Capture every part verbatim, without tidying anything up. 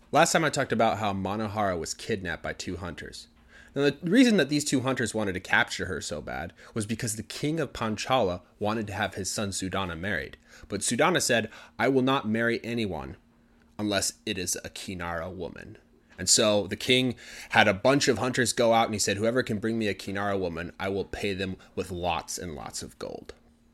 Last time I talked about how Manohara was kidnapped by two hunters. Now, the reason that these two hunters wanted to capture her so bad was because the king of Panchala wanted to have his son Sudana married. But Sudana said, I will not marry anyone unless it is a Kinara woman. And so the king had a bunch of hunters go out and he said, whoever can bring me a Kinara woman, I will pay them with lots and lots of gold.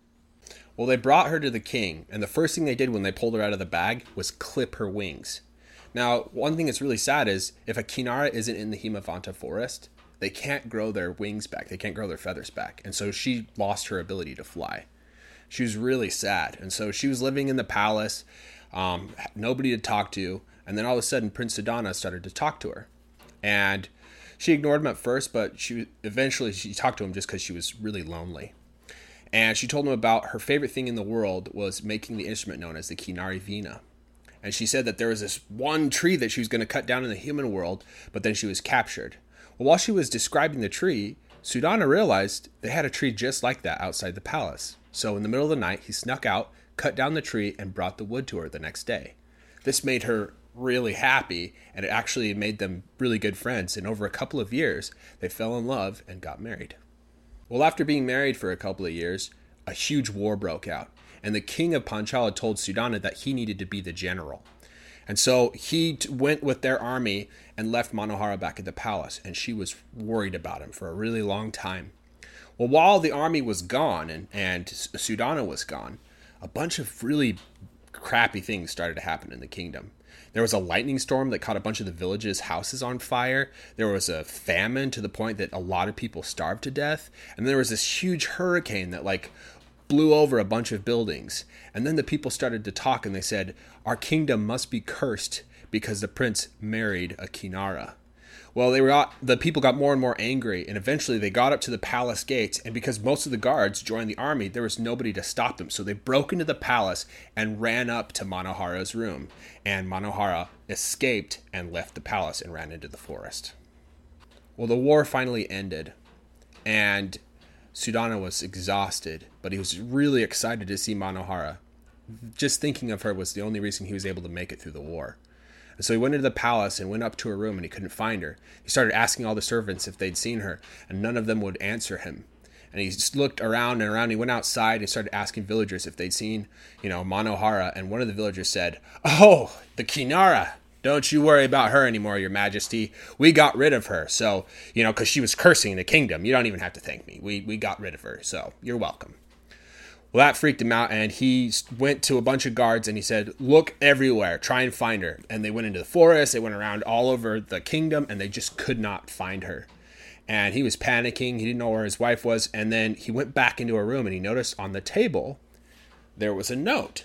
Well, they brought her to the king, and the first thing they did when they pulled her out of the bag was clip her wings. Now, one thing that's really sad is if a Kinara isn't in the Himavanta forest, they can't grow their wings back. They can't grow their feathers back. And so she lost her ability to fly. She was really sad. And so she was living in the palace, um, nobody to talk to. And then all of a sudden, Prince Sudana started to talk to her. And she ignored him at first, but she eventually she talked to him just because she was really lonely. And she told him about her favorite thing in the world was making the instrument known as the Kinari Vina. And she said that there was this one tree that she was going to cut down in the human world, but then she was captured. Well, while she was describing the tree, Sudana realized they had a tree just like that outside the palace. So in the middle of the night, he snuck out, cut down the tree, and brought the wood to her the next day. This made her really happy, and it actually made them really good friends. And over a couple of years, they fell in love and got married. Well, after being married for a couple of years, a huge war broke out. And the king of Panchala told Sudana that he needed to be the general. And so he t- went with their army and left Manohara back at the palace. And she was worried about him for a really long time. Well, while the army was gone and, and Sudana was gone, a bunch of really crappy things started to happen in the kingdom. There was a lightning storm that caught a bunch of the village's houses on fire. There was a famine to the point that a lot of people starved to death. And there was this huge hurricane that like blew over a bunch of buildings. And then the people started to talk and they said, our kingdom must be cursed because the prince married a Kinara. Well, they were the people got more and more angry, and eventually they got up to the palace gates, and because most of the guards joined the army, there was nobody to stop them. So they broke into the palace and ran up to Manohara's room, and Manohara escaped and left the palace and ran into the forest. Well, the war finally ended, and Sudana was exhausted, but he was really excited to see Manohara. Just thinking of her was the only reason he was able to make it through the war. And so he went into the palace and went up to her room and he couldn't find her. He started asking all the servants if they'd seen her, and none of them would answer him. And he just looked around and around. He went outside and started asking villagers if they'd seen, you know, Manohara. And one of the villagers said, oh, the Kinara. Don't you worry about her anymore, your majesty. We got rid of her. So, you know, because she was cursing the kingdom. You don't even have to thank me. We we got rid of her. So you're welcome. Well, that freaked him out. And he went to a bunch of guards and he said, look everywhere. Try and find her. And they went into the forest. They went around all over the kingdom and they just could not find her. And he was panicking. He didn't know where his wife was. And then he went back into a room and he noticed on the table there was a note.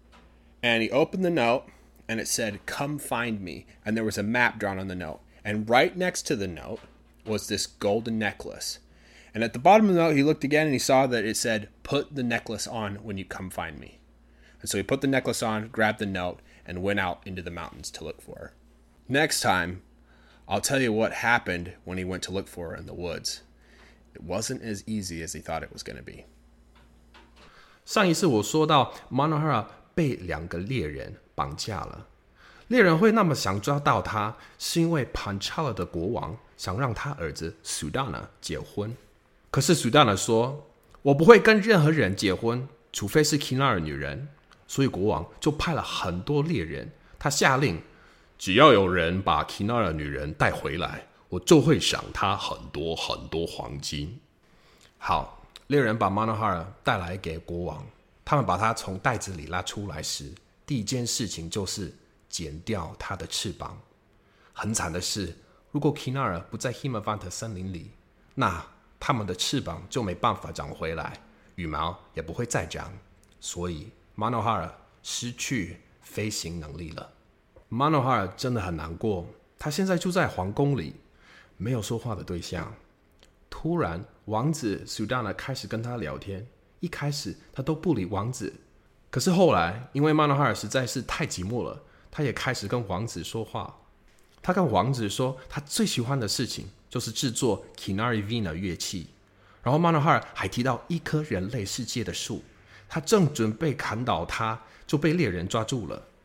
And he opened the note. And it said, come find me. And there was a map drawn on the note. And right next to the note was this golden necklace. And at the bottom of the note, he looked again and he saw that it said, put the necklace on when you come find me. And so he put the necklace on, grabbed the note, and went out into the mountains to look for her. Next time, I'll tell you what happened when he went to look for her in the woods. It wasn't as easy as he thought it was going to be. 上一次我说到 Manohara 被两个猎人绑架了。猎人会那么想抓到他，是因为 Panchala 的国王想让他儿子 Sudana 结婚。可是 Sudana 说，我不会跟任何人结婚，除非是 Kinara 女人。所以国王就派了很多猎人，他下令，只要有人把 Kinara 女人带回来，我就会赏他很多很多黄金。好，猎人把 Manohara 带来给国王，他们把他从袋子里拉出来时，第一件事情就是剪掉他的翅膀。很惨的是，如果 Kinara 不在 Himavanta 森林里，那他们的翅膀就没办法长回来，羽毛也不会再长，所以 Manohara 失去飞行能力了。Manohara 真的很难过，他现在住在皇宫里，没有说话的对象。突然，王子 Sudana 开始跟他聊天，一开始他都不理王子，可是后来，因为 Manohara 实在是太寂寞了，他也开始跟王子说话。他跟王子说，他最喜欢的事情就是制作 Kinari Vina 乐器。然后 Manohara 还提到一棵人类世界的树，他正准备砍倒它，就被猎人抓住了。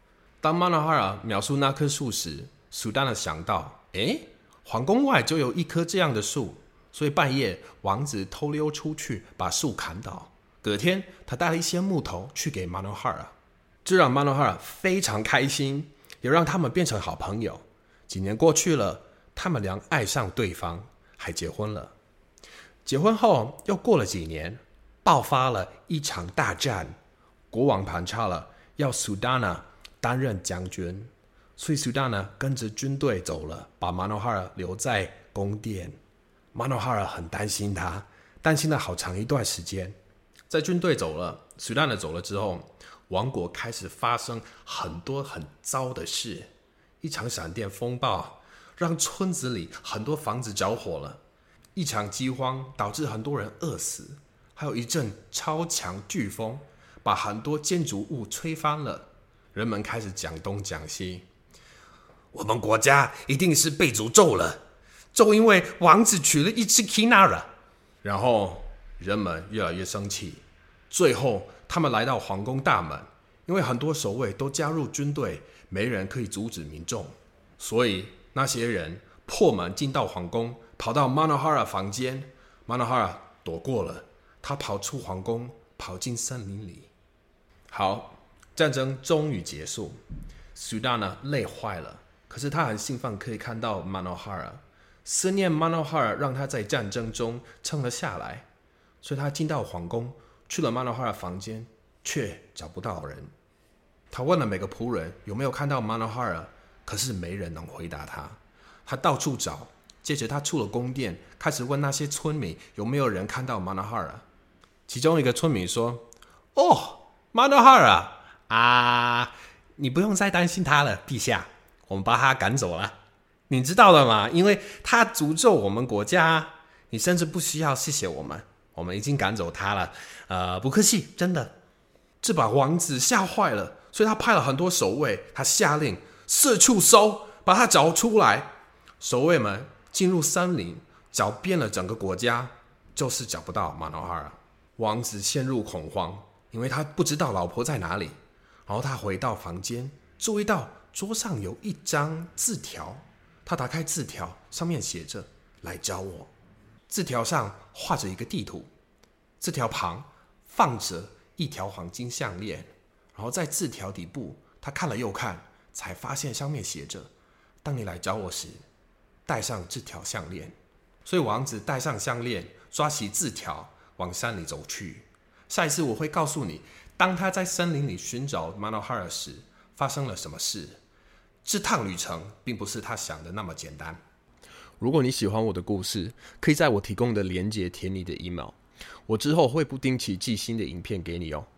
当 Manohara 描述那棵树时，苏丹娜想到，诶，皇宫外就有一棵这样的树，所以半夜王子偷溜出去把树砍倒。隔天他带了一些木头去给 Manohara， 这让 Manohara 非常开心，也让他们变成好朋友。几年过去了，他们俩爱上对方，还结婚了。结婚后又过了几年，爆发了一场大战，国王盘查了要苏丹娜担任将军，所以苏丹娜跟着军队走了，把 Manohara 留在宫殿。 Manohara 很担心他，担心了好长一段时间。在军队走了，苏丹娜走了之后，王国开始发生很多很糟的事。一场闪电风暴让村子里很多房子着火了，一场饥荒导致很多人饿死，还有一阵超强飓风把很多建筑物吹翻了。人们开始讲东讲西，我们国家一定是被诅咒了，就因为王子娶了一只 Kinara。 然后人们越来越生气，最后他们来到皇宫大门，因为很多守卫都加入军队，没人可以阻止民众，所以那些人破门进到皇宫，跑到 Manohara 房间。 Manohara 躲过了，他跑出皇宫，跑进森林里。好，战争终于结束，苏丹娜累坏了，可是他很兴奋可以看到 Manohara， 思念 Manohara 让他在战争中撑了下来，所以他进到皇宫，去了 Manohara 房间，却找不到人。他问了每个仆人有没有看到 Manohara， 可是没人能回答他。他到处找，接着他出了宫殿，开始问那些村民有没有人看到 Manohara。 其中一个村民说，哦， Manohara 啊，你不用再担心他了，陛下，我们把他赶走了。你知道了吗？因为他诅咒我们国家，你甚至不需要谢谢我们，我们已经赶走他了。呃，不客气，真的。这把王子吓坏了，所以他派了很多守卫，他下令四处搜，把他找出来。守卫们进入森林，找遍了整个国家，就是找不到 Manohara。 王子陷入恐慌，因为他不知道老婆在哪里。然后他回到房间，注意到桌上有一张字条，他打开字条，上面写着来找我。字条上画着一个地图，字条旁放着一条黄金项链。然后在字条底部，他看了又看，才发现上面写着，当你来找我时，带上这条项链。所以王子带上项链，抓起字条往山里走去。下一次我会告诉你，当他在森林里寻找 Manohara 时发生了什么事。这趟旅程并不是他想的那么简单。 如果你喜欢我的故事，可以在我提供的连结填你的 email， 我之后会不定期寄新的影片给你哦。